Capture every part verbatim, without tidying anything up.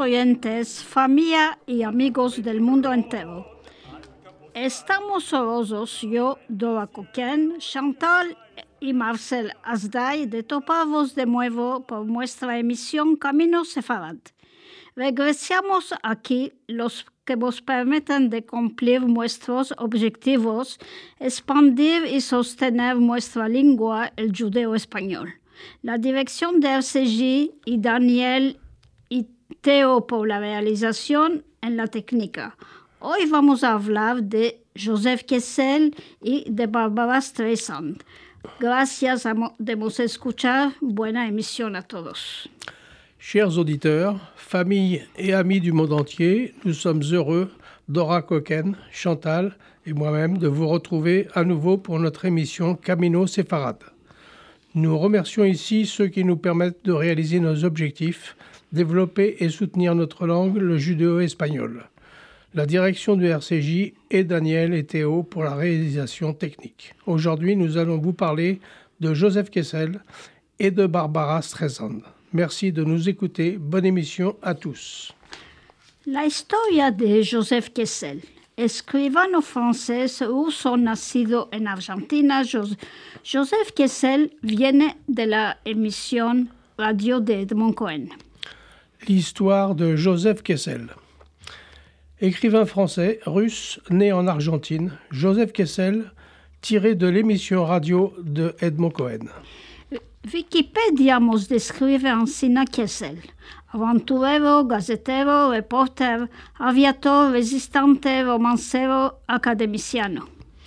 oyentes, familia y amigos del mundo entero. Estamos orgullosos, yo, Dora Coquen, Chantal y Marcel Asday, de toparvos de nuevo por nuestra emisión Camino Sefarad. Regresamos aquí los que nos permiten de cumplir nuestros objetivos, expandir y sostener nuestra lengua, el judeo-español. La dirección de R C J y Daniel y Teo por la realización en la técnica. Hoy vamos a hablar de Joseph Kessel y de Barbara Streisand. Gracias a de nos escuchar. Buena émission à todos. Chers auditeurs, familles et amis du monde entier, nous sommes heureux, Dora Coquen, Chantal et moi-même, de vous retrouver à nouveau pour notre émission Camino Sefarad. Nous remercions ici ceux qui nous permettent de réaliser nos objectifs, développer et soutenir notre langue, le judéo-espagnol. La direction du R C J et Daniel et Théo pour la réalisation technique. Aujourd'hui, nous allons vous parler de Joseph Kessel et de Barbara Streisand. Merci de nous écouter. Bonne émission à tous. La historia de Joseph Kessel, escribano francés ruso nacido en Argentina. Joseph Kessel viene de la émission radio de Edmond Cohen. L'histoire de Joseph Kessel. Écrivain français, russe, né en Argentine, Joseph Kessel, tiré de l'émission radio de Edmond Cohen. Wikipedia nos describe Ancina Kessel, aventurero, gazetero, reporter, aviator, resistante, romancero, académiciano.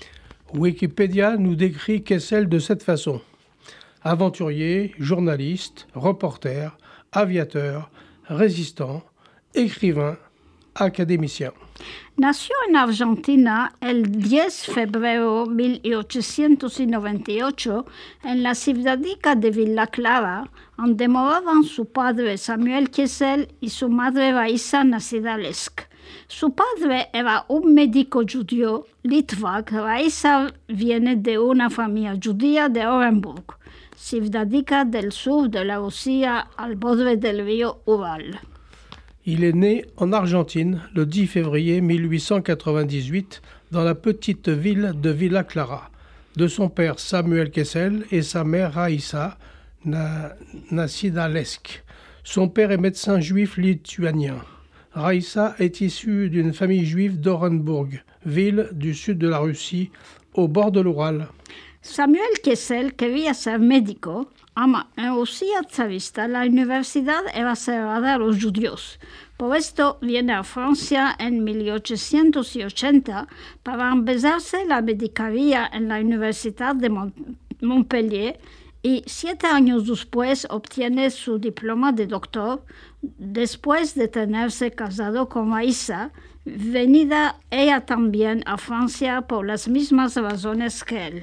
Wikipédia nous décrit Kessel de cette façon. Aventurier, journaliste, reporter, aviateur, résistant, écrivain, académicien. Nació en Argentina el diez de febrero de mil ochocientos noventa y ocho en la ciudadica de Villa Clara, donde moraban su padre Samuel Kessel y su madre Raisa, nacida Lesk. Su padre era un médico judío, Litvak. Raisa viene de una familia judía de Orenburg, ciudadica del sur de la Rusia al borde del río Ural. Il est né en Argentine le dix février mille huit cent quatre-vingt-dix-huit dans la petite ville de Villa Clara, de son père Samuel Kessel et sa mère Raïssa, na, nacida Lesk. Son père est médecin juif lituanien. Raïssa est issue d'une famille juive d'Orenburg, ville du sud de la Russie, au bord de l'Ural. Samuel Kessel quería ser médico. Ama, en Rusia zarista la universidad era cerrada a los judíos. Por esto viene a Francia en mil ochocientos ochenta para empezarse la medicaría en la Universidad de Montpellier y siete años después obtiene su diploma de doctor después de tenerse casado con Raisa, venida ella también a Francia por las mismas razones que él.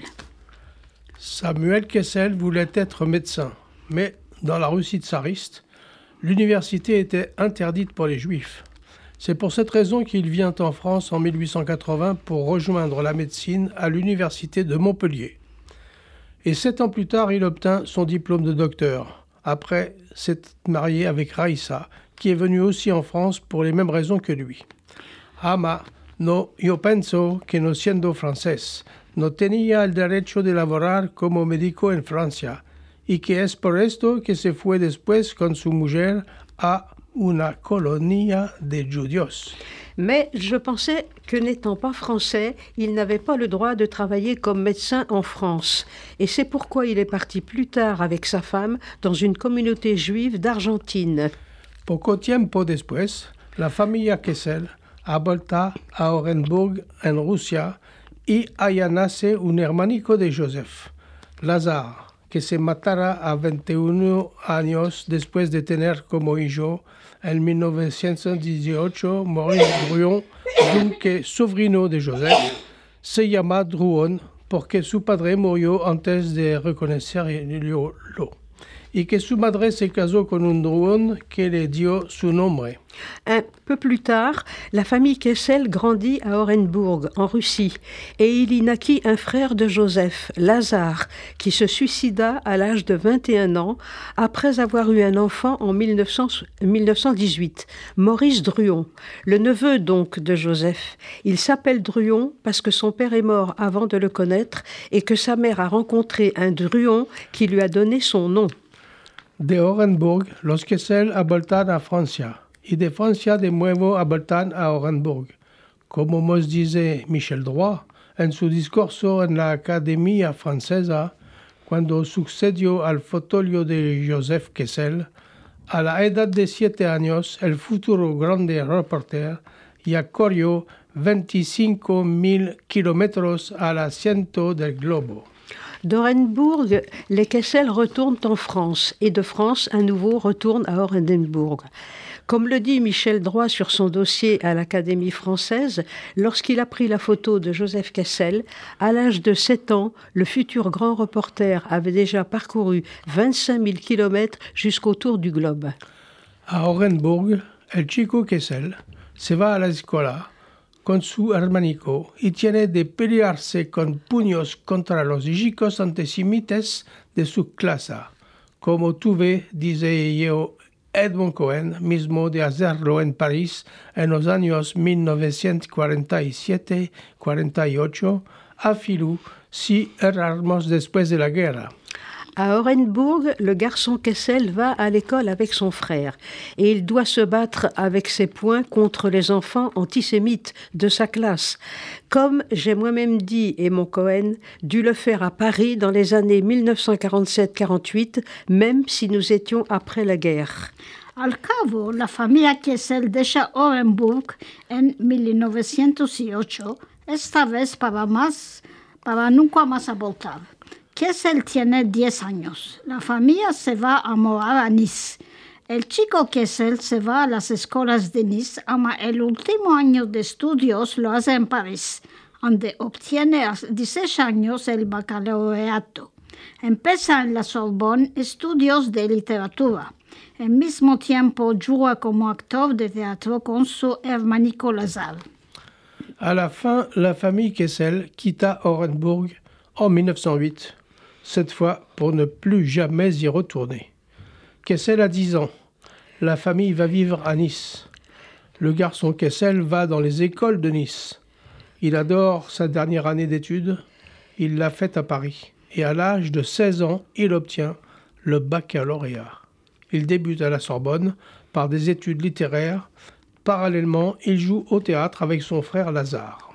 Samuel Kessel voulait être médecin, mais dans la Russie tsariste, l'université était interdite pour les juifs. C'est pour cette raison qu'il vient en France en mille huit cent quatre-vingts pour rejoindre la médecine à l'université de Montpellier. Et sept ans plus tard, il obtint son diplôme de docteur, après s'être marié avec Raïssa, qui est venue aussi en France pour les mêmes raisons que lui. Ama, no, yo penso que no siendo francés, no tenía el derecho de laborar como médico en Francia, y que es por esto que se fue después con su mujer a una colonia de judíos. Mais je pensais que n'étant pas français, il n'avait pas le droit de travailler comme médecin en France. Et c'est pourquoi il est parti plus tard avec sa femme dans une communauté juive d'Argentine. Poco tiempo después, la familia Kessel ha vuelto a Orenburg en Rusia y allá nace un hermanico de Joseph, Lazare, que se matara a veintiuno años después de tener como hijo en mil novecientos dieciocho Maurice Druon, dunque sobrino de Joseph, se llama Druon porque su padre murió antes de reconocerlo. y que su madre se casó con un druón que le dio su nombre. Un peu plus tard, la famille Kessel grandit à Orenbourg, en Russie, et il y naquit un frère de Joseph, Lazare, qui se suicida à l'âge de vingt et un ans après avoir eu un enfant en mille neuf cent dix-huit, Maurice Druon, le neveu donc de Joseph. Il s'appelle Druon parce que son père est mort avant de le connaître et que sa mère a rencontré un Druon qui lui a donné son nom. De Orenbourg, los Kessel aboltan a Francia. Y de Francia de nuevo aboltan a Orenbourg. Como nos dice Michel Droit en su discurso en la Academia Francesa, cuando sucedió al fotolio de Joseph Kessel, a la edad de siete años, el futuro grande reporter ya corrió veinticinco mil kilómetros al asiento del globo. D'Orenbourg, les Kessel retournent en France et de France, à nouveau, retournent à Orenbourg. Comme le dit Michel Droit sur son dossier à l'Académie française, lorsqu'il a pris la photo de Joseph Kessel, à l'âge de sept ans, le futur grand reporter avait déjà parcouru vingt-cinq mille kilomètres jusqu'au tour du globe. À Orenbourg, el chico Kessel se va a la escuela con su hermanico y tiene de pelearse con puños contra los chicos antisemitas de su clase, como tuve, dice yo, Edmond Cohen, mismo de hacerlo en París en los años mil novecientos cuarenta y siete cuarenta y ocho, a Filou, si erramos después de la guerra. À Orenbourg, le garçon Kessel va à l'école avec son frère et il doit se battre avec ses poings contre les enfants antisémites de sa classe. Comme j'ai moi-même dit, Edmond Cohen, dû le faire à Paris dans les années mille neuf cent quarante-sept quarante-huit, même si nous étions après la guerre. Al cabo, la familia Kessel deja Orenbourg en mil novecientos ocho, esta vez para, más, para nunca más voltar. Kessel tiene diez años. La familia se va a morar a Nice. El chico Kessel se va a las escuelas de Nice, ama el último año de estudios lo hace en París, donde obtiene a dieciséis años el baccalaureato. Empieza en la Sorbonne estudios de literatura. Al mismo tiempo juega como actor de teatro con su hermanico Lazare. À la fin, la famille Kessel quitta Orenbourg en mille neuf cent huit, cette fois pour ne plus jamais y retourner. Kessel a dix ans. La famille va vivre à Nice. Le garçon Kessel va dans les écoles de Nice. Il adore sa dernière année d'études. Il l'a faite à Paris. Et à l'âge de seize ans, il obtient le baccalauréat. Il débute à la Sorbonne par des études littéraires. Parallèlement, il joue au théâtre avec son frère Lazare.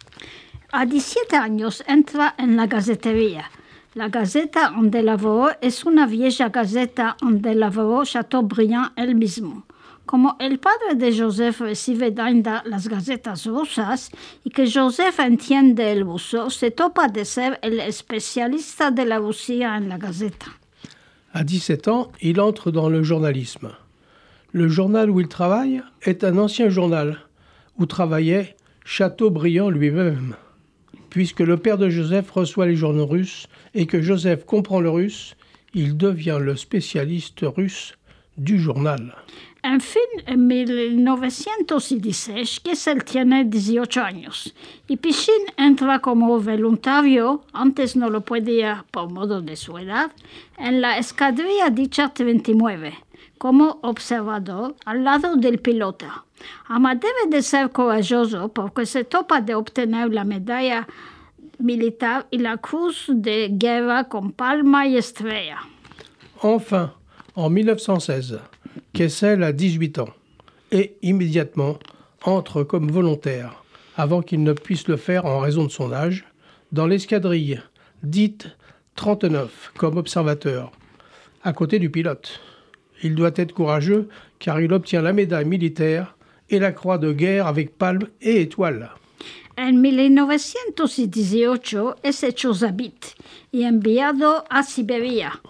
A diecisiete años entra en la gacetería. La Gaceta donde laboró es una vieja gaceta donde laboró Chateaubriand él mismo. Como el padre de Joseph recibe daña las gacetas rusas y que Joseph entiende el ruso, se topa de ser el especialista de la Russia en la Gaceta. À dix-sept ans, il entre dans le journalisme. Le journal où il travaille est un ancien journal où travaillait Chateaubriand lui-même. Puisque le père de Joseph reçoit les journaux russes et que Joseph comprend le russe, il devient le spécialiste russe du journal. En fin, en mil novecientos dieciséis, Kessel tiene dieciocho años y Pichín entra como voluntario, antes no lo podía por modo de su edad, en la escuadrilla dicha treinta y nueve, como observador al lado del pilota. Ama debe de ser corajoso porque se topa de obtener la medalla militar y la cruz de guerra con palma y estrella. Enfin, en mille neuf cent seize, Kessel a dix-huit ans et immédiatement entre comme volontaire, avant qu'il ne puisse le faire en raison de son âge, dans l'escadrille dite trente-neuf comme observateur, à côté du pilote. Il doit être courageux car il obtient la médaille militaire et la croix de guerre avec palme et étoile. En mil novecientos dieciocho es hecho zabit y enviado a Siberia.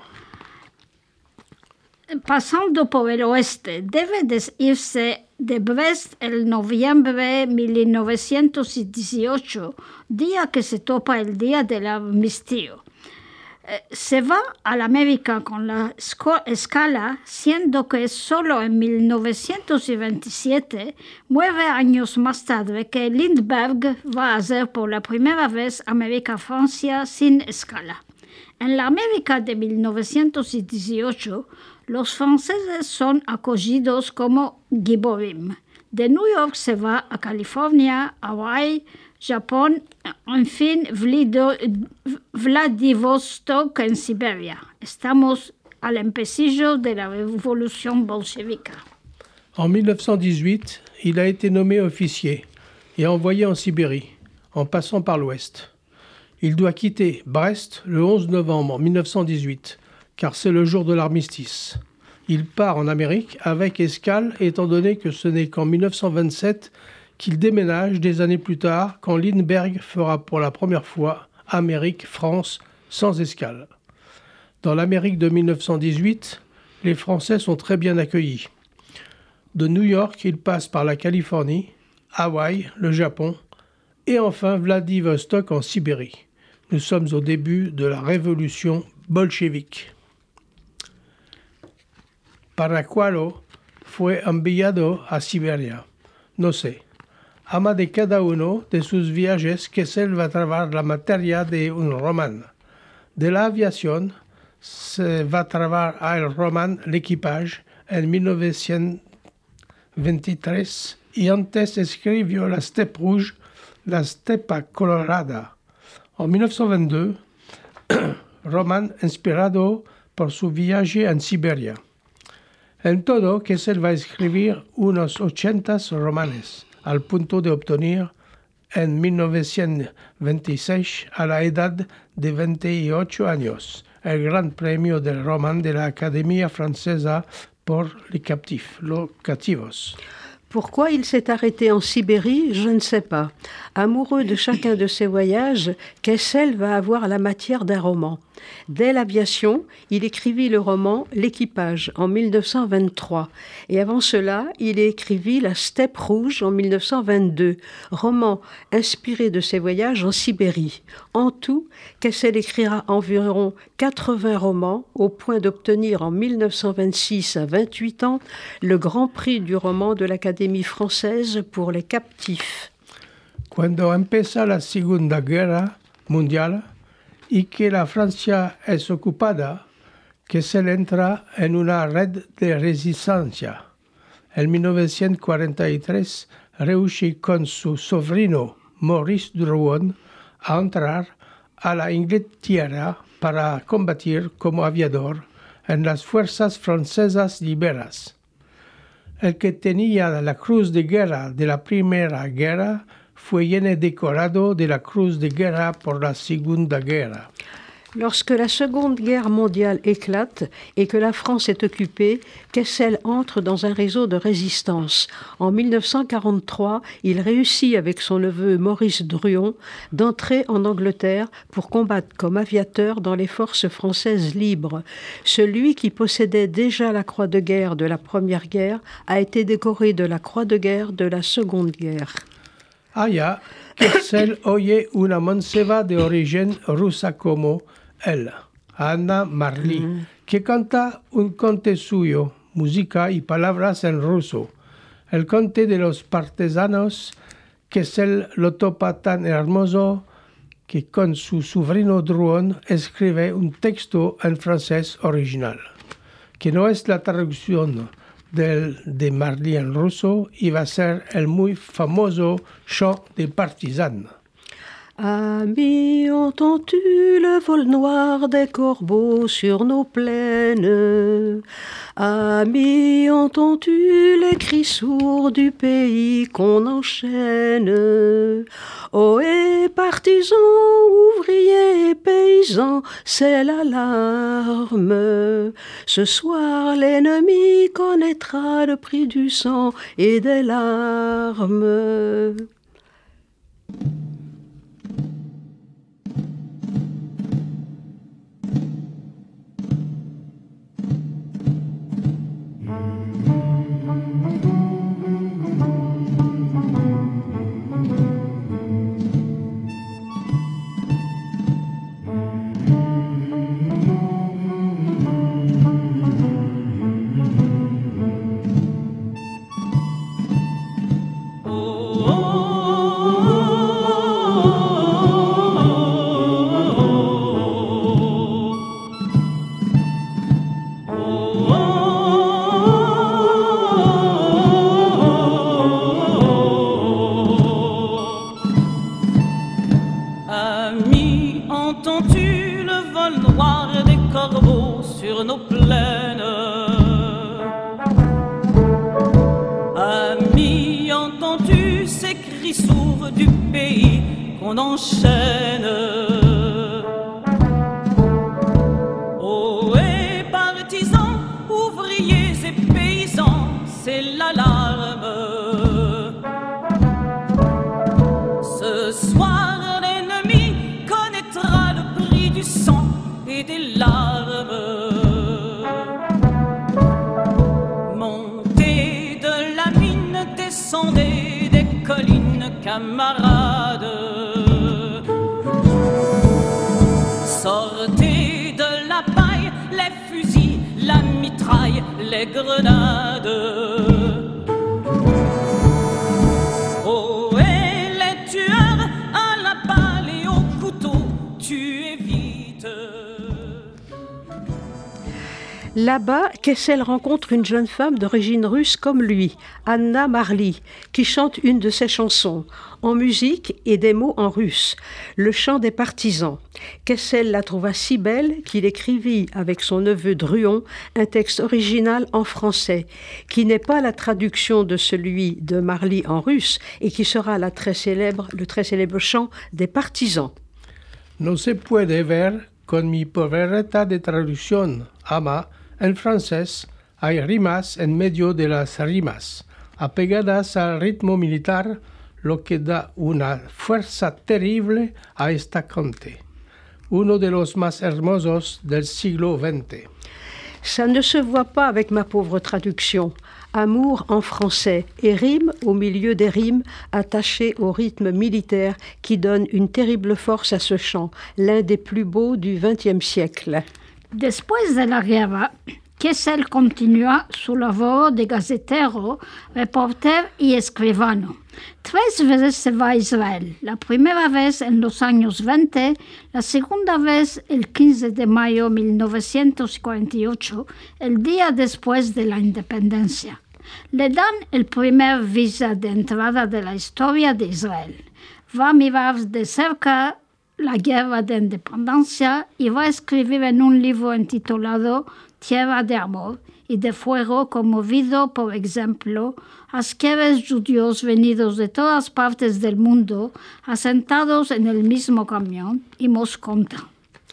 Pasando por el oeste, debe de irse de Brest el noviembre de mil novecientos dieciocho, día que se topa el día del armisticio. Se va all'America con la Scala, siendo que solo en mil novecientos veintisiete, nueve años más tarde, que Lindbergh va a hacer por la primera vez América-Francia sin escala. En la América de mil novecientos dieciocho, los franceses son acogidos como giborim. De New York se va a California, Hawái, Japón, en fin, Vladivostok en Siberia. Estamos al empecillo de la révolution bolchevique. En mille neuf cent dix-huit, il a été nommé officier et envoyé en Sibérie, en passant par l'Ouest. Il doit quitter Brest le onze novembre mille neuf cent dix-huit, car c'est le jour de l'armistice. Il part en Amérique avec escale, étant donné que ce n'est qu'en mille neuf cent vingt-sept qu'il déménage des années plus tard, quand Lindbergh fera pour la première fois Amérique-France sans escale. Dans l'Amérique de mille neuf cent dix-huit, les Français sont très bien accueillis. De New York, il passe par la Californie, Hawaï, le Japon, et enfin Vladivostok en Sibérie. Nous sommes au début de la révolution bolchevique. ¿Para cuándo fue enviado a Siberia? No sé. Ama de cada uno de sus viajes que se va a trabar la materia de un román. De la aviación se va a trabar el román L'équipage en mille neuf cent veintitrés y antes escribió La steppe rouge, La steppe colorada. En mille neuf cent vingt-deux, román inspirado por su viaje en Siberia. En todo, que se va a escribir unos ochenta romanes, al punto de obtener en mille neuf cent veintiséis, a la edad de veintiocho años, el Gran Premio del Roman de la Academia Francesa por les captifs, los cautivos. Pourquoi il s'est arrêté en Sibérie, je ne sais pas. Amoureux de chacun de ses voyages, Kessel va avoir la matière d'un roman. Dès l'aviation, il écrivit le roman L'équipage en mille neuf cent vingt-trois. Et avant cela, il écrivit La steppe rouge en mille neuf cent vingt-deux, roman inspiré de ses voyages en Sibérie. En tout, Kessel écrira environ quatre-vingts romans, au point d'obtenir en mille neuf cent vingt-six, à vingt-huit ans, le Grand Prix du roman de l'Académie française pour les captifs. Cuando empieza la Segunda Guerra Mundial y que la Francia es ocupada, que se entra en una red de resistencia. En mille neuf cent quarante-tres, réussit con su sobrino Maurice Drouin a entrar a la Inglaterra para combatir como aviador en las fuerzas francesas liberas. El que tenía la Cruz de Guerra de la Primera Guerra fue lleno decorado de la Cruz de Guerra por la Segunda Guerra. Lorsque la Seconde Guerre mondiale éclate et que la France est occupée, Kessel entre dans un réseau de résistance. En mille neuf cent quarante-trois, il réussit avec son neveu Maurice Drouin d'entrer en Angleterre pour combattre comme aviateur dans les forces françaises libres. Celui qui possédait déjà la Croix de guerre de la Première Guerre a été décoré de la Croix de guerre de la Seconde Guerre. Allá, Kessel oye una manceba de origen rusa como él, Anna Marley, mm. que canta un conte suyo, música y palabras en ruso. El conte de los partisanos, Kessel lo topa tan hermoso que con su sobrino Drouin escribe un texto en francés original, que no es la traducción del, de Marley en ruso, y va a ser el muy famoso chant des partisans. Amis, entends-tu le vol noir des corbeaux sur nos plaines? Amis, entends-tu les cris sourds du pays qu'on enchaîne? Ohé, partisans, ouvriers, paysans, c'est l'alarme. Ce soir, l'ennemi connaîtra le prix du sang et des larmes. sur nos plaines. Amis, entends-tu ces cris sourds du pays qu'on enchaîne? Oh, et partisans, ouvriers et paysans, c'est l'alarme. Ce soir, l'ennemi connaîtra le prix du sang et des larmes. Montez de la mine, descendez des collines, camarades. Sortez de la paille, les fusils, la mitraille, les grenades. Oh, et les tueurs à la balle et au couteau, tuez vite. Là-bas, Kessel rencontre une jeune femme d'origine russe comme lui, Anna Marly, qui chante une de ses chansons, en musique et des mots en russe, le chant des partisans. Kessel la trouva si belle qu'il écrivit avec son neveu Druon un texte original en français, qui n'est pas la traduction de celui de Marly en russe et qui sera la très célèbre, le très célèbre chant des partisans. No se puede ver con mi pobreza de traducción, ama, en francés, hay rimas en medio de las rimas, apegadas al ritmo militar, lo que da una fuerza terrible a esta cante, uno de los más hermosos del siglo veinte. Ça ne se voit pas avec ma pauvre traduction. Amour en français et rime au milieu des rimes attachées au rythme militaire qui donne une terrible force à ce chant, l'un des plus beaux du vingtième siècle. Después de la guerra, Kessel continúa su labor de gazetero, reporter y escribano. Tres veces se va a Israel, la primera vez en los años veinte, la segunda vez el quince de mayo de mil novecientos cuarenta y ocho, el día después de la independencia. Le dan el primer visa de entrada de la historia de Israel. Va a mirar de cerca la guerra de independencia y va a escribir en un libro intitulado Tierra de Amor y de Fuego, conmovido, por ejemplo, a asqueres judíos venidos de todas partes del mundo, asentados en el mismo camión, y nos conta.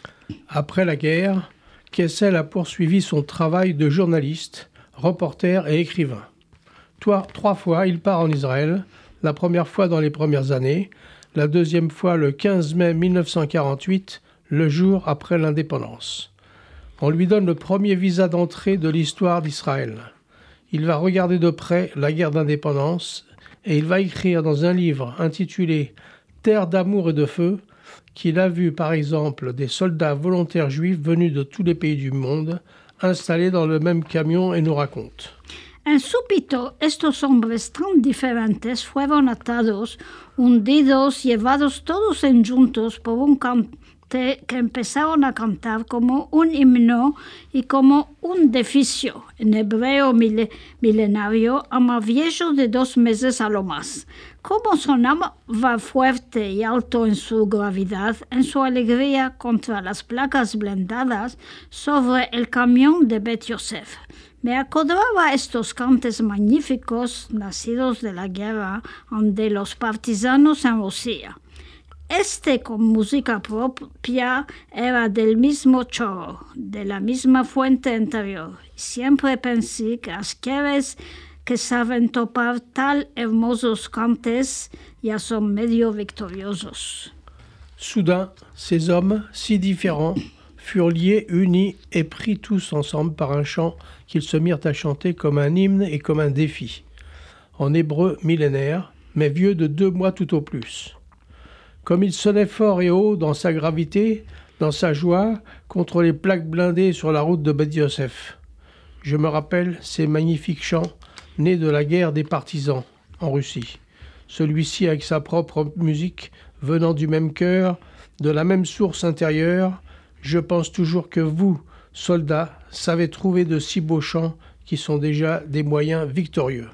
Après la guerre, Kessel a poursuivi son travail de journaliste, reporter et écrivain. Trois, trois fois, il part en Israël, la première fois dans les premières années, la deuxième fois le quinze mai mille neuf cent quarante-huit, le jour après l'indépendance. On lui donne le premier visa d'entrée de l'histoire d'Israël. Il va regarder de près la guerre d'indépendance et il va écrire dans un livre intitulé « Terre d'amour et de feu » qu'il a vu par exemple des soldats volontaires juifs venus de tous les pays du monde installés dans le même camion et nous raconte. En súbito, estos hombres tan diferentes fueron atados, hundidos, llevados todos en juntos por un cante que empezaron a cantar como un himno y como un deficio, en hebreo milenario, a más viejo de dos meses a lo más. Como sonaba fuerte y alto en su gravedad, en su alegría contra las placas blindadas sobre el camión de Bet Yosef. Me acordaba estos cantes magníficos nacidos de la guerra de los partisanos en Rusia. Este con música propia era del mismo chorro, de la misma fuente interior. Siempre pensé que asqueres que saben topar tal hermosos cantes ya son medio victoriosos. Soudain, ces hommes, si différents, furent liés, unis et pris tous ensemble par un chant qu'ils se mirent à chanter comme un hymne et comme un défi. En hébreu millénaire, mais vieux de deux mois tout au plus. Comme il sonnait fort et haut dans sa gravité, dans sa joie, contre les plaques blindées sur la route de Bet Yosef. Je me rappelle ces magnifiques chants nés de la guerre des partisans en Russie. Celui-ci avec sa propre musique, venant du même cœur, de la même source intérieure. Je pense toujours que vous, soldats, savez trouver de si beaux chants qui sont déjà des moyens victorieux.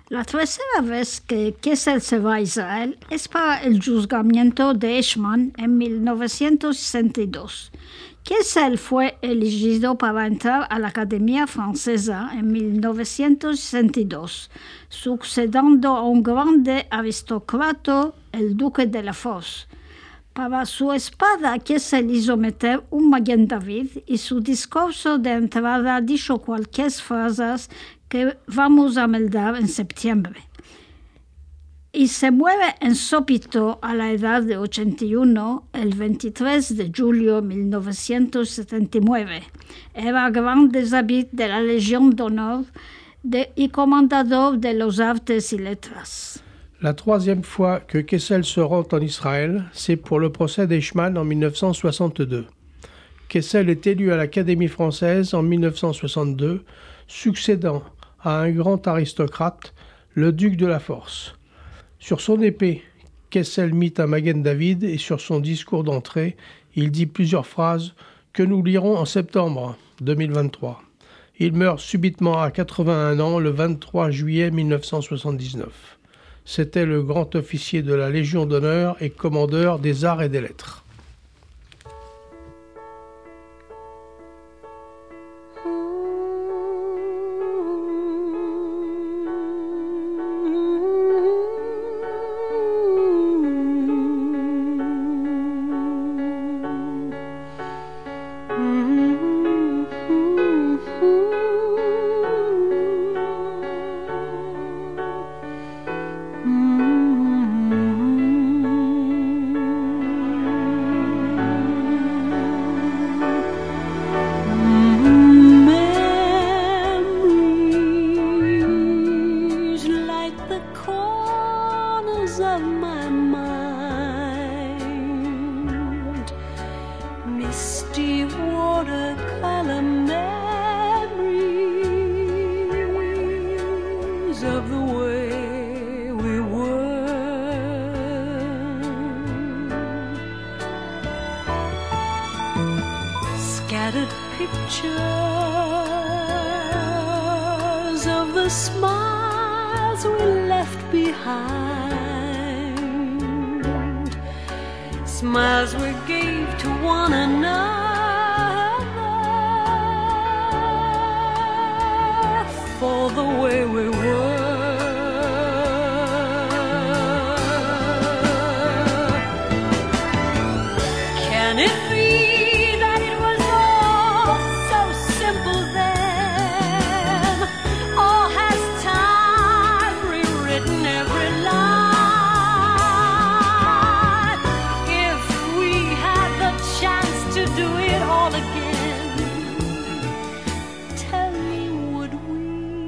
La tercera vez que Kessel se va a Israel es para el juzgamiento de Eichmann en mil novecientos sesenta y dos. Kessel fue elegido para entrar a la Academia Francesa en mil novecientos sesenta y dos, sucediendo a un grande aristócrata, el duque de la Fosse. Para su espada, Kessel hizo meter un Maguen David y su discurso de entrada dijo cualquier frases que vamos a meldar en septiembre. Y se muere en Sopito a la edad de ochenta y uno el veintitrés de julio de mil novecientos setenta y nueve. Era gran déshabit de la Légion d'honneur de, y comandador de los artes y letras. La troisième fois que Kessel se rend en Israël, c'est pour le procès d'Eichmann en mille neuf cent soixante-deux. Kessel est élu à l'Académie française en mille neuf cent soixante-deux, succédant à un grand aristocrate, le duc de la Force. Sur son épée, Kessel mit un Maguen David et sur son discours d'entrée, il dit plusieurs phrases que nous lirons en septembre deux mille vingt-trois. Il meurt subitement à quatre-vingt-un ans le vingt-trois juillet mille neuf cent soixante-dix-neuf. C'était le grand officier de la Légion d'honneur et commandeur des arts et des lettres. Smiles we gave to one another for the way we were. Can it be that it was all so simple then? Or has time rewritten every line? To do it all again, tell me, would we?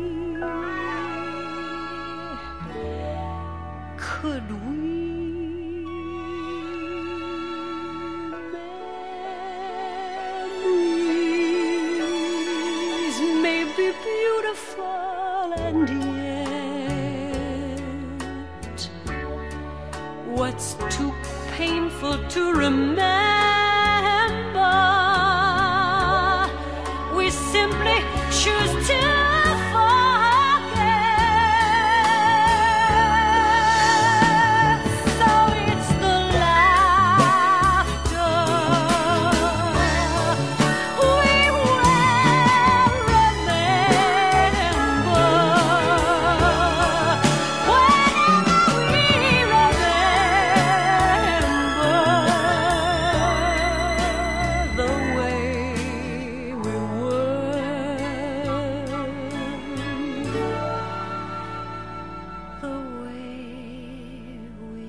Could we? Memories may be beautiful, and yet what's too painful to remember? We simply choose to forget. So it's the laughter we will remember whenever we remember the way we were, the way we.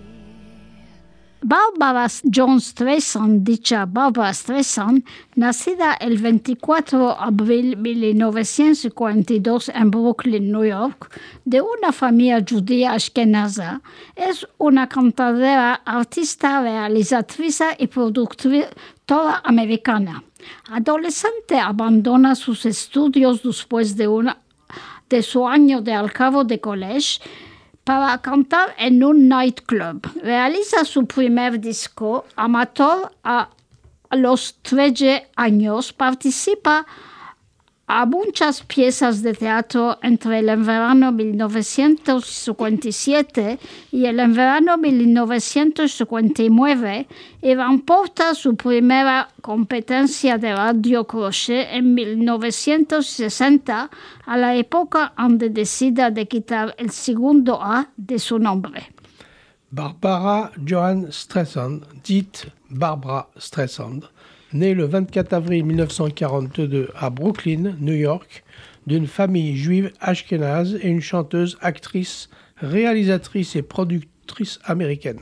Barbara Jones Streisand, dicha Barbara Streisand, nacida el veinticuatro de abril de mil novecientos cincuenta y dos en Brooklyn, New York, de una familia judía ashkenaza, es una cantadora, artista, realizatriz y productora americana. Adolescente, abandona sus estudios después de, una, de su año de al cabo de college para cantar en un nightclub. Realiza su primer disco amateur a los trece años. Participa a muchas piezas de teatro entre el verano mil novecientos cincuenta y siete y el verano mil novecientos cincuenta y nueve y remporta su primera competencia de radio crochet en mil novecientos sesenta, a la época donde decide de quitar el segundo A de su nombre. Barbara Johan Streisand, dite Barbra Streisand, née le vingt-quatre avril mille neuf cent quarante-deux à Brooklyn, New York, d'une famille juive ashkénaze et une chanteuse, actrice, réalisatrice et productrice américaine.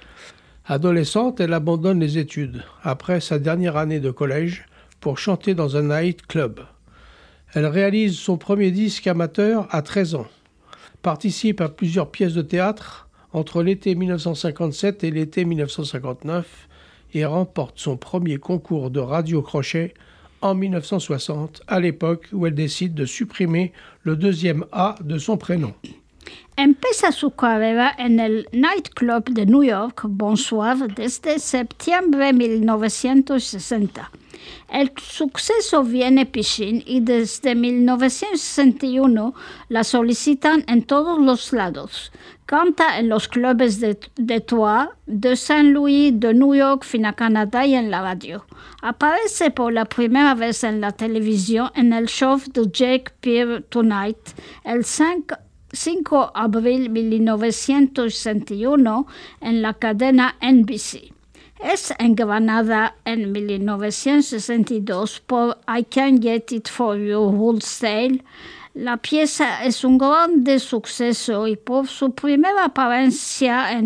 Adolescente, elle abandonne les études après sa dernière année de collège pour chanter dans un night club. Elle réalise son premier disque amateur à treize ans, participe à plusieurs pièces de théâtre entre l'été mille neuf cent cinquante-sept et l'été mille neuf cent cinquante-neuf et remporte son premier concours de radio-crochet en mille neuf cent soixante, à l'époque où elle décide de supprimer le deuxième A de son prénom. Empieza su carrera en el nightclub de New York, Bonsoir, desde septiembre mil novecientos sesenta. El suceso viene piscín y desde mil novecientos sesenta y uno la solicitan en todos los lados. Canta en los clubes de Detroit, de Saint Louis, de New York, fin a Canadá y en la radio. Aparece por la primera vez en la televisión en el show de Jake Pearl Tonight el cinco de abril mil novecientos sesenta y uno en la cadena N B C. Es engranada en mil novecientos sesenta y dos por I Can't Get It For You Wholesale. La pieza es un grande suceso y por su primera apariencia en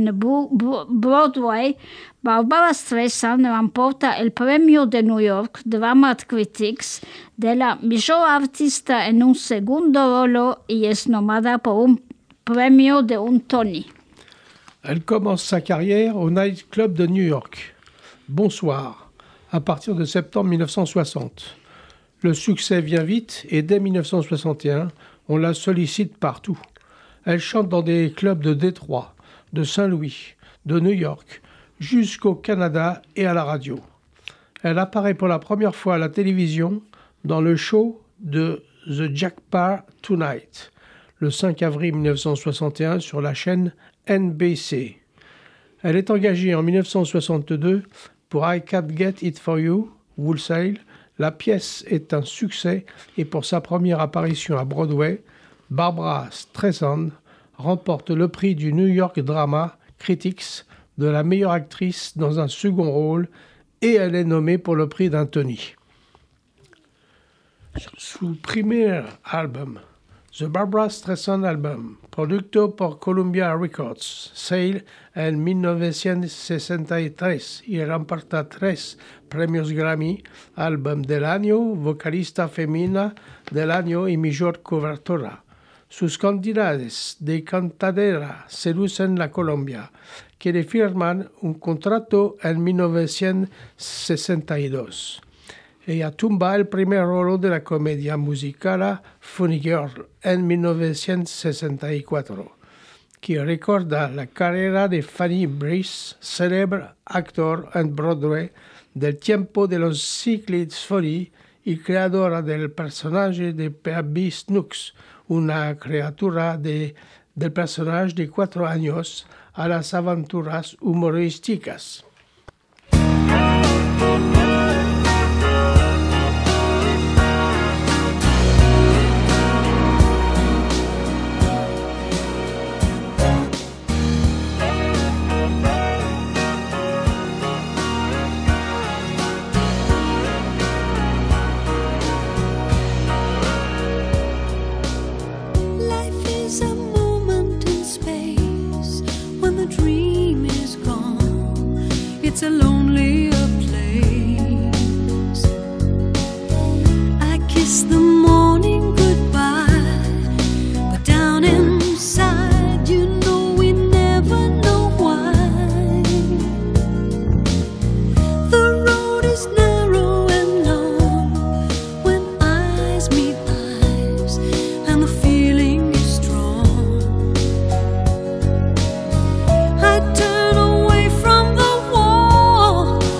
Broadway, Barbra Streisand remporta el premio de New York Drama Critics de la mejor artista en un segundo rolo y es nombrada por un premio de un Tony. Elle commence sa carrière au Night Club de New York, Bonsoir, à partir de septembre mille neuf cent soixante. Le succès vient vite et dès mille neuf cent soixante et un, on la sollicite partout. Elle chante dans des clubs de Détroit, de Saint-Louis, de New York, jusqu'au Canada et à la radio. Elle apparaît pour la première fois à la télévision dans le show de The Jack Paar Tonight, le cinq avril mille neuf cent soixante et un sur la chaîne N B C. Elle est engagée en mille neuf cent soixante-deux pour I Can't Get It For You, Wholesale. La pièce est un succès et pour sa première apparition à Broadway, Barbra Streisand remporte le prix du New York Drama Critics de la meilleure actrice dans un second rôle et elle est nommée pour le prix d'un Tony. Su primer album, The Barbra Streisand Album, producto por Columbia Records, sale en mil novecientos sesenta y tres y remporta tres premios Grammy, Álbum del Año, Vocalista Femenina del Año y Mejor Cobertura. Sus cantidades de cantadera seducen la Colombia, que le firman un contrato en mil novecientos sesenta y dos. Ella tumba el primer rolo de la comedia musical Funny Girl en mil novecientos sesenta y cuatro, que recuerda la carrera de Fanny Brice, célebre actor en Broadway del tiempo de los Cyclists Folly y creadora del personaje de Percy Snooks, una criatura de, del personaje de cuatro años a las aventuras humorísticas. It's a lonelier place. I kiss the morning goodbye, but down inside, you know we never know why. The road is narrow and long when eyes meet eyes, and the feeling is strong. I turn away from the wall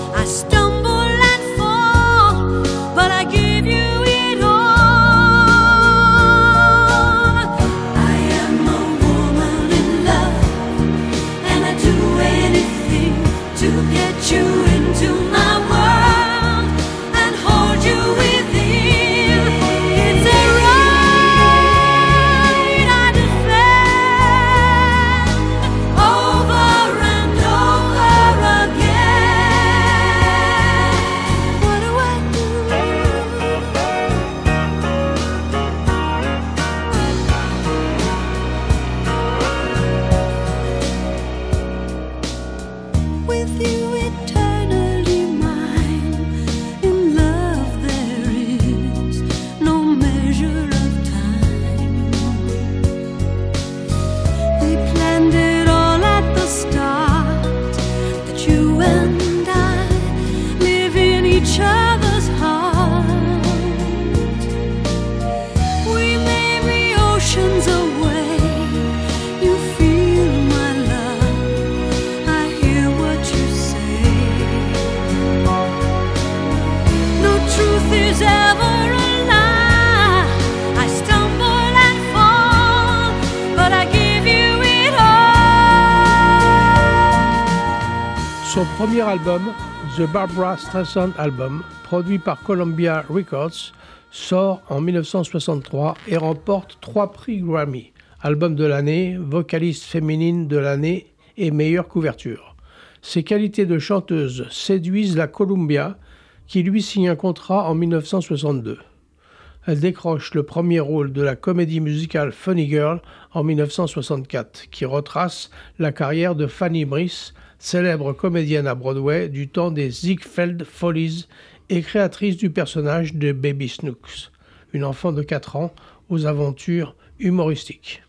with you eternally mine. In love there is no measure of time. We planned it all at the start, that you and I live in each other's heart. We may be oceans away. You feel my love, I hear what you say. No truth is ever a lie. I stumble and fall, but I give you it all. Son premier album, The Barbra Streisand Album, produit par Columbia Records, sort en mille neuf cent soixante-trois et remporte trois prix Grammy, album de l'année, vocaliste féminine de l'année et meilleure couverture. Ses qualités de chanteuse séduisent la Columbia, qui lui signe un contrat en mille neuf cent soixante-deux. Elle décroche le premier rôle de la comédie musicale Funny Girl en mille neuf cent soixante-quatre, qui retrace la carrière de Fanny Brice, célèbre comédienne à Broadway du temps des Ziegfeld Follies et créatrice du personnage de Baby Snooks, une enfant de quatre ans aux aventures humoristiques.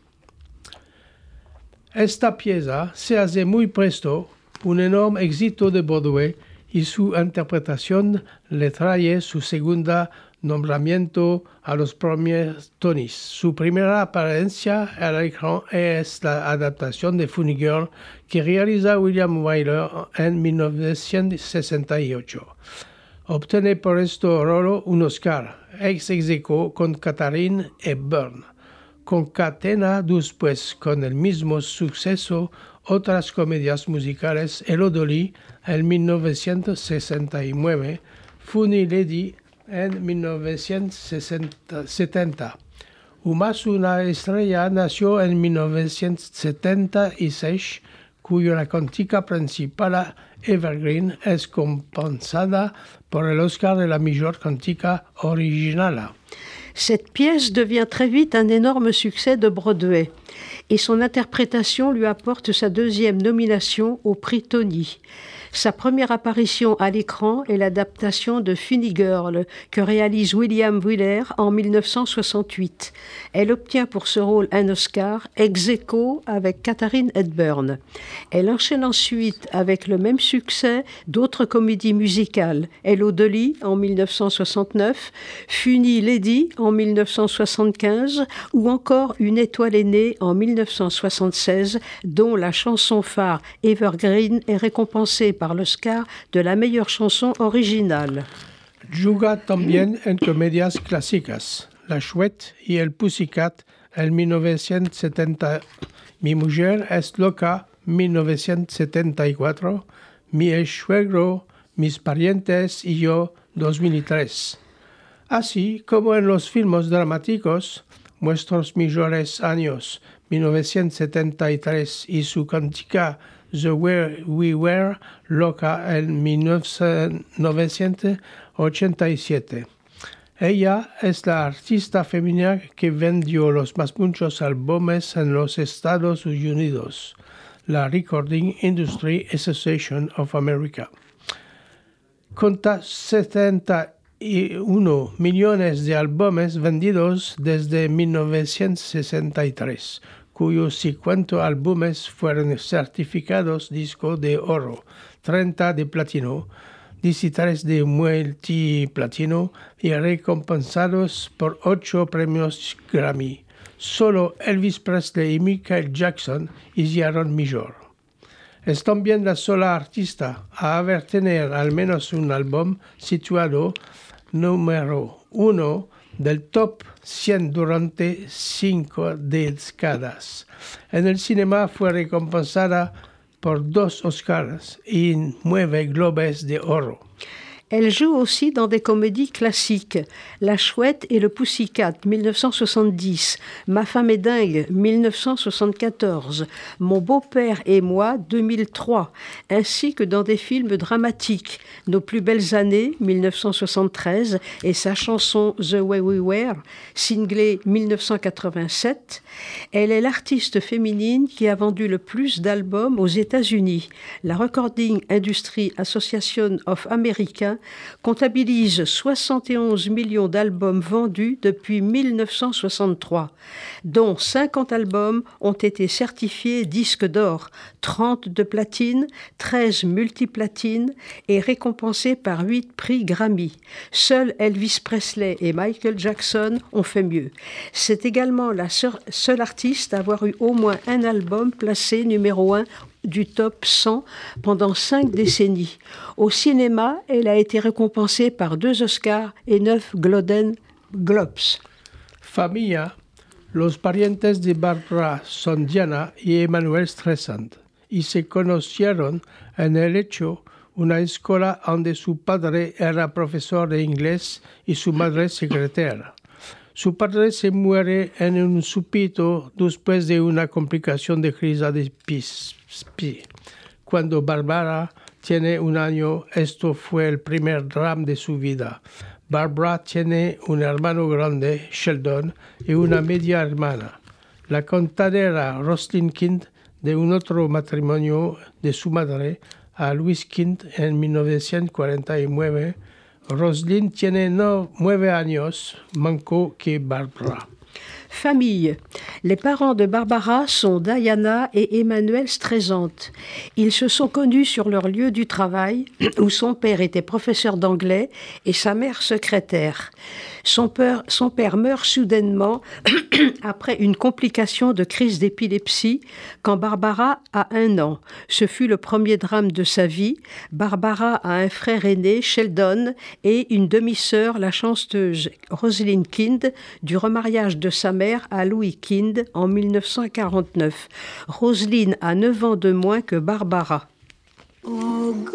Esta pieza se hace muy presto, un enorme éxito de Broadway, y su interpretación le trae su segunda nombramiento a los premios Tonys. Su primera apariencia al écran es la adaptación de Funny Girl que realiza William Wyler en mille neuf cent soixante-ocho. Obtiene por este rol un Oscar, ex aequo con Katharine Hepburn. Concatena después con el mismo suceso otras comedias musicales, Hello Dolly en mille neuf cent soixante-neuf, Funny Lady en mille neuf cent setenta. Más una estrella nació en mille neuf cent setenta y seis, cuya la cantica principal Evergreen es compensada por el Oscar de la mejor cantica original. Cette pièce devient très vite un énorme succès de Broadway et son interprétation lui apporte sa deuxième nomination au prix Tony. Sa première apparition à l'écran est l'adaptation de Funny Girl que réalise William Wyler en mille neuf cent soixante-huit. Elle obtient pour ce rôle un Oscar ex aequo avec Katharine Hepburn. Elle enchaîne ensuite avec le même succès d'autres comédies musicales, Hello Dolly en mille neuf cent soixante-neuf, Funny Lady en mille neuf cent soixante-quinze ou encore Une étoile est née en mille neuf cent soixante-seize, dont la chanson phare Evergreen est récompensée par l'Oscar de la meilleure chanson originale. Juga también en comedias clásicas, La Chouette y el Pussycat en mille neuf cent setenta, Mi mujer es loca mille neuf cent setenta y cuatro, Mi ex-suegro, Mis parientes y yo dos mil tres. Así como en los filmes dramáticos, Nuestros mejores años mille neuf cent setenta y tres y su cantica The Way We Were Loca en mille neuf cent ochenta y siete. Ella es la artista femenina que vendió los más muchos álbumes en los Estados Unidos, la Recording Industry Association of America. Conta setenta y uno millones de álbumes vendidos desde mille neuf cent sesenta y tres, cuyos cincuenta álbumes fueron certificados disco de oro, treinta de platino, dieciséis de multiplatino y recompensados por ocho premios Grammy. Solo Elvis Presley y Michael Jackson hicieron mejor. Es también la sola artista a haber tenido al menos un álbum situado número uno del top cien durante cinco décadas. En el cine fue recompensada por dos Oscars y nueve Globes de Oro. Elle joue aussi dans des comédies classiques. La Chouette et le Pussycat, dix-neuf cent soixante-dix. Ma femme est dingue, dix-neuf cent soixante-quatorze. Mon beau-père et moi, deux mille trois. Ainsi que dans des films dramatiques. Nos plus belles années, dix-neuf cent soixante-treize. Et sa chanson The Way We Were, singlée dix-neuf cent quatre-vingt-sept. Elle est l'artiste féminine qui a vendu le plus d'albums aux États-Unis. La Recording Industry Association of America comptabilise soixante et onze millions d'albums vendus depuis dix-neuf cent soixante-trois, dont cinquante albums ont été certifiés disques d'or, trente de platine, treize multiplatines et récompensés par huit prix Grammy. Seuls Elvis Presley et Michael Jackson ont fait mieux. C'est également la seule artiste à avoir eu au moins un album placé numéro un du top cent pendant cinq décennies. Au cinéma, elle a été récompensée par deux Oscars et neuf Golden Globes. Familia, los parientes de Barbra son Diana y Emanuel Streisand, y se conocieron en el hecho una escuela donde su padre era profesor de inglés y su madre secretaria. Su padre se muere en un súbito después de una complicación de crisis de pis. Cuando Barbara tiene un año, esto fue el primer drama de su vida. Barbara tiene un hermano grande, Sheldon, y una media hermana. La contadera Rosalind Kind, de un otro matrimonio de su madre, a Louis Kind en mil novecientos cuarenta y nueve. Rosalind tiene no, nueve años, manco que Barbara. Famille. Les parents de Barbara sont Diana et Emmanuel Streisand. Ils se sont connus sur leur lieu du travail, où son père était professeur d'anglais et sa mère secrétaire. Son père, son père meurt soudainement après une complication de crise d'épilepsie quand Barbara a un an. Ce fut le premier drame de sa vie. Barbara a un frère aîné, Sheldon, et une demi-sœur, la chanteuse Rosalind Kind, du remariage de sa mère à Louis Kind en dix-neuf cent quarante-neuf. Rosalind a neuf ans de moins que Barbara. Oh God,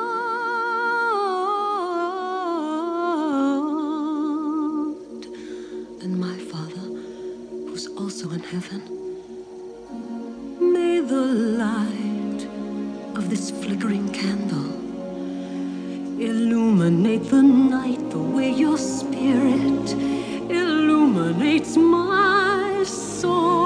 and my Father, who's also in heaven, may the light of this flickering candle illuminate the night the way your spirit illuminates my soul.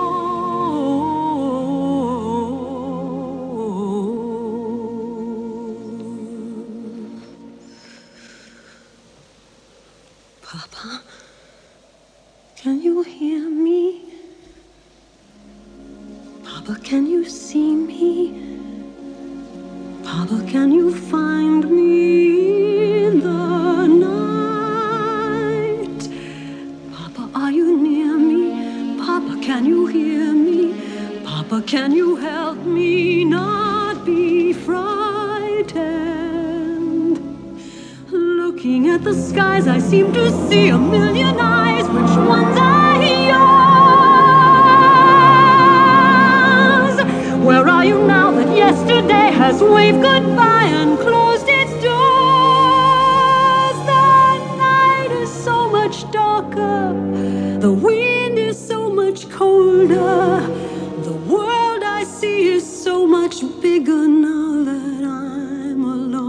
Papa, can you hear me? Papa, can you see me? Papa, can you find me in the night? Papa, are you near me? Papa, can you hear me? Papa, can you help me not be frightened? Looking at the skies, I seem to see a million eyes. Which ones are yours? Where are you now that yesterday has waved goodbye and closed its doors? The night is so much darker, the wind is so much colder, the world I see is so much bigger now that I'm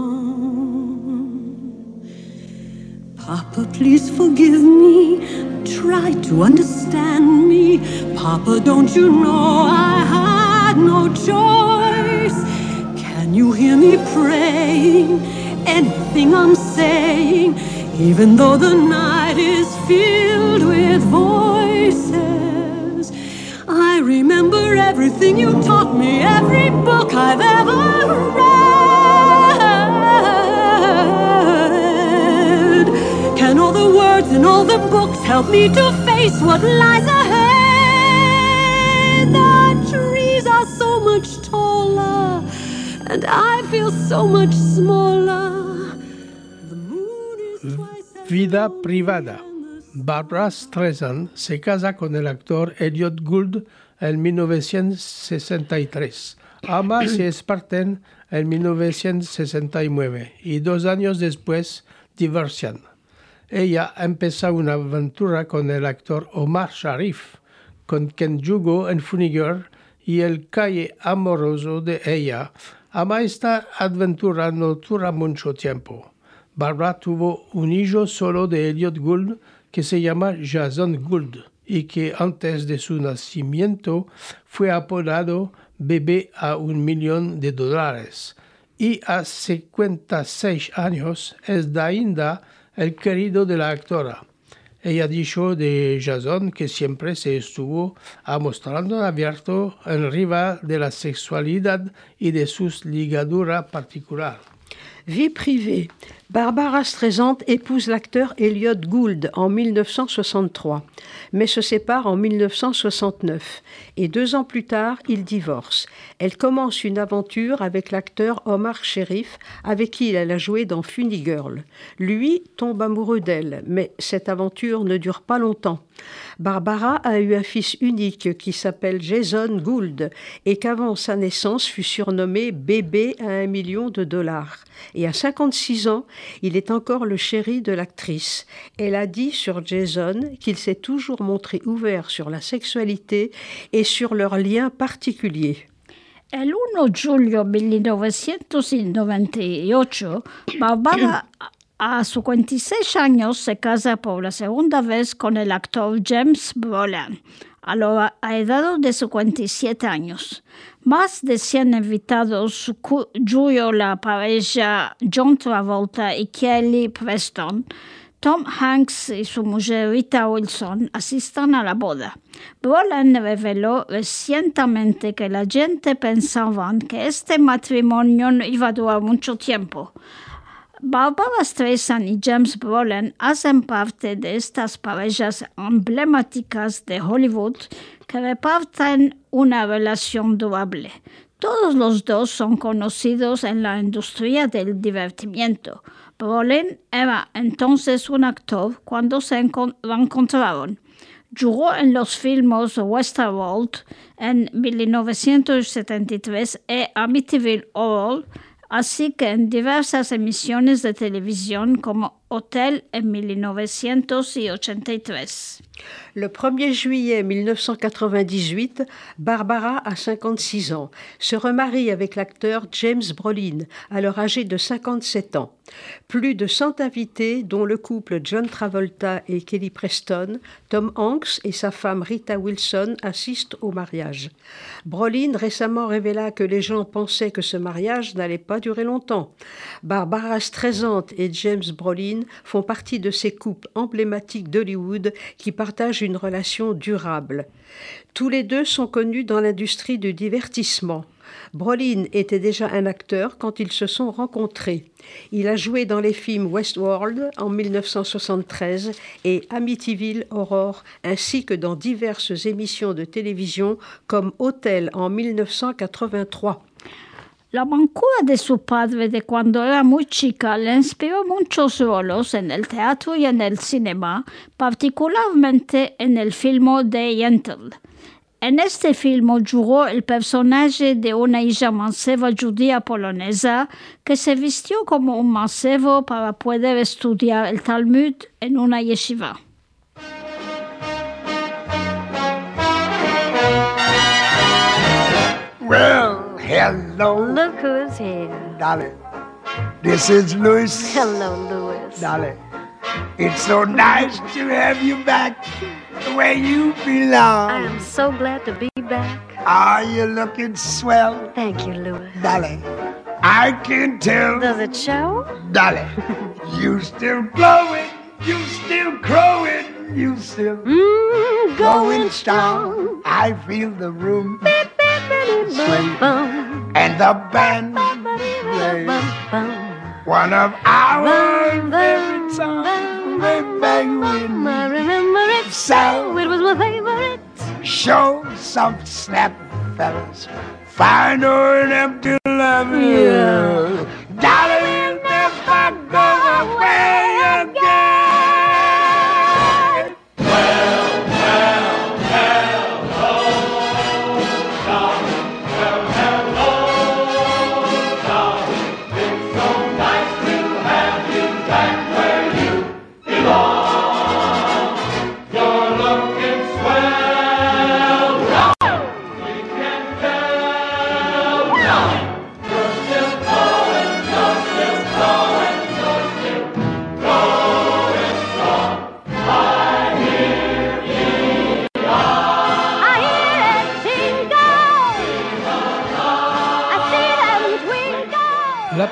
alone. Papa, please forgive me, try to understand me. Papa, don't you know I had no choice? Can you hear me praying? Anything I'm saying, even though the night is filled with voices. I remember everything you taught me, every book I've ever read. Can all the words in all the books help me to face what lies ahead? The trees are so much taller, and I feel so much smaller. The moon is twice as Vida long privada. Barbra Streisand se casa con el actor Elliot Gould en mil novecientos sesenta y tres. Ama se esparten en mil novecientos sesenta y nueve y dos años después divorcian. Ella empieza una aventura con el actor Omar Sharif, con quien jugó en Funny Girl, y el calle amoroso de ella. Ama esta aventura no dura mucho tiempo. Barbara tuvo un hijo solo de Elliot Gould que se llama Jason Gould y que antes de su nacimiento fue apodado Bebé a un millón de dólares. Y a cincuenta y seis años es ainda el querido de la actora. Ella dijo de Jason que siempre se estuvo mostrando abierto en riva de la sexualidad y de su ligadura particular. Vie privée. Barbara Streisand épouse l'acteur Elliot Gould en mille neuf cent soixante-trois, mais se sépare en mille neuf cent soixante-neuf. Et deux ans plus tard, ils divorcent. Elle commence une aventure avec l'acteur Omar Sharif, avec qui elle a joué dans Funny Girl. Lui tombe amoureux d'elle, mais cette aventure ne dure pas longtemps. Barbara a eu un fils unique qui s'appelle Jason Gould et qu'avant sa naissance fut surnommé Bébé à un million de dollars. Et à cinquante-six ans, il est encore le chéri de l'actrice. Elle a dit sur Jason qu'il s'est toujours montré ouvert sur la sexualité et sur leur lien particulier. El uno de julio de mil novecientos noventa y ocho, Barbara, a cincuenta y seis años, se casa por la segunda vez con el actor James Brolin, a la edad de cincuenta y siete años. Más de cien invitados, cuyo la pareja John Travolta y Kelly Preston, Tom Hanks y su mujer Rita Wilson asistan a la boda. Brolin reveló recientemente que la gente pensaba que este matrimonio no iba a durar mucho tiempo. Barbara Streisand y James Brolin hacen parte de estas parejas emblemáticas de Hollywood que reparten una relación durable. Todos los dos son conocidos en la industria del divertimiento. Brolin era entonces un actor cuando se encont- encontraron. Jugó en los filmes Westworld en mil novecientos setenta y tres y Amityville Horror, así que en diversas emisiones de televisión como Hotel en mil novecientos ochenta y tres. Le premier juillet mille neuf cent quatre-vingt-dix-huit, Barbara a cinquante-six ans, se remarie avec l'acteur James Brolin, alors âgé de cinquante-sept ans. Plus de cent invités, dont le couple John Travolta et Kelly Preston, Tom Hanks et sa femme Rita Wilson assistent au mariage. Brolin récemment révéla que les gens pensaient que ce mariage n'allait pas durer longtemps. Barbara Streisand et James Brolin font partie de ces couples emblématiques d'Hollywood qui partagent une relation durable. Tous les deux sont connus dans l'industrie du divertissement. Brolin était déjà un acteur quand ils se sont rencontrés. Il a joué dans les films Westworld en mille neuf cent soixante-treize et Amityville Horror, ainsi que dans diverses émissions de télévision comme Hotel en mille neuf cent quatre-vingt-trois. La mancura de su padre de cuando era muy chica le inspiró muchos roles en el teatro y en el cinema, particularmente en el film de Yentl. En este film jugó el personaje de una hija manceba judía polonesa que se vistió como un mancebo para poder estudiar el Talmud en una yeshiva. Well, hello, Look who's here. Dolly. This is Louis. Hello, Louis. Dolly. It's so nice to have you back where you belong. I am so glad to be back. Are you looking swell, Thank you, Louis. Dolly? I can tell, Does it show? Dolly. You still glowing, you still crowing, you still Mmm, going strong. I feel the room swing Bum, and the band play bum, one of our bum, favorite songs way back when. I remember it So It was my favorite. show some snap, fellas. Find her an empty love. Yeah. Dolly, never go away again. Well, well, hello, darling. Well, hello.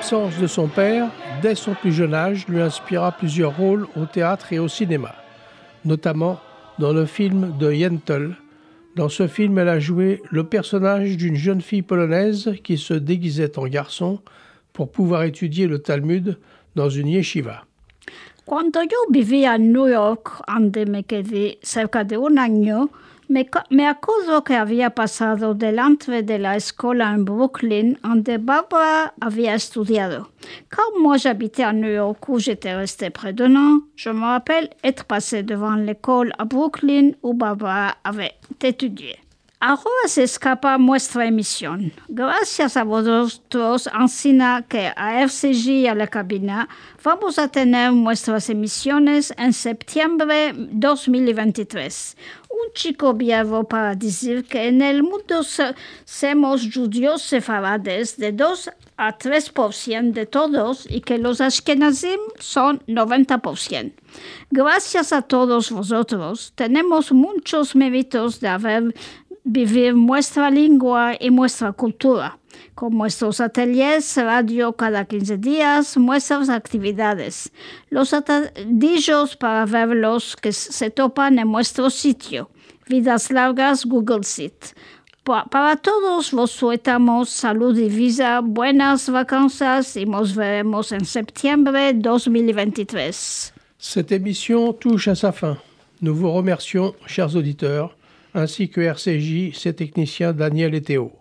naissance de son père, dès son plus jeune âge, lui inspira plusieurs rôles au théâtre et au cinéma, notamment dans le film de Yentl. Dans ce film, elle a joué le personnage d'une jeune fille polonaise qui se déguisait en garçon pour pouvoir étudier le Talmud dans une yeshiva. Cuando yo vivía en New York, donde me quedé cerca de un año, me, me acuerdo que había pasado delante de la escuela en Brooklyn, donde Barbara había estudiado. Quand moi j'habitais à New York, où j'étais restée près d'un an, je me rappelle être passée devant l'école à Brooklyn où Barbara avait étudié. Ahora se escapa nuestra emisión. Gracias a vosotros, Ancina, que a R C G y a la cabina, vamos a tener nuestras emisiones en septiembre dos mil veintitrés. Un chico viejo para decir que en el mundo se, somos judíos sefarades de dos a tres por ciento de todos y que los ashkenazim son noventa por ciento. Gracias a todos vosotros, tenemos muchos méritos de haber vivir nuestra lengua y nuestra cultura, con nuestros ateliers, radio cada quince días, nuestras actividades, los atadillos para verlos que se topan en nuestro sitio, Vidas Largas Google Sheet. Pa- para todos vos suetamos salud y vida, buenas vacances y nos veremos en septiembre dos mil veintitrés. Cette émission touche à sa fin. Nous vous remercions, chers auditeurs, ainsi que R C J, ses techniciens Daniel et Théo.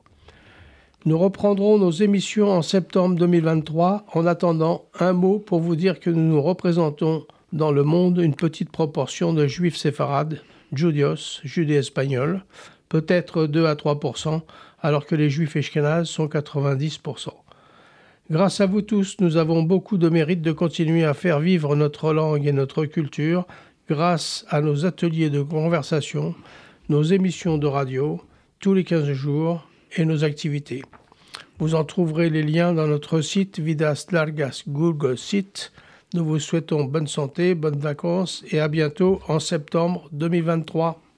Nous reprendrons nos émissions en septembre deux mille vingt-trois. En attendant, un mot pour vous dire que nous nous représentons dans le monde une petite proportion de juifs séfarades, judios, judéo-espagnols, peut-être deux à trois pour cent, alors que les juifs ashkénazes sont quatre-vingt-dix pour cent. Grâce à vous tous, nous avons beaucoup de mérite de continuer à faire vivre notre langue et notre culture grâce à nos ateliers de conversation, nos émissions de radio tous les quinze jours et nos activités. Vous en trouverez les liens dans notre site Vidas Largas Google Site. Nous vous souhaitons bonne santé, bonnes vacances et à bientôt en septembre deux mille vingt-trois.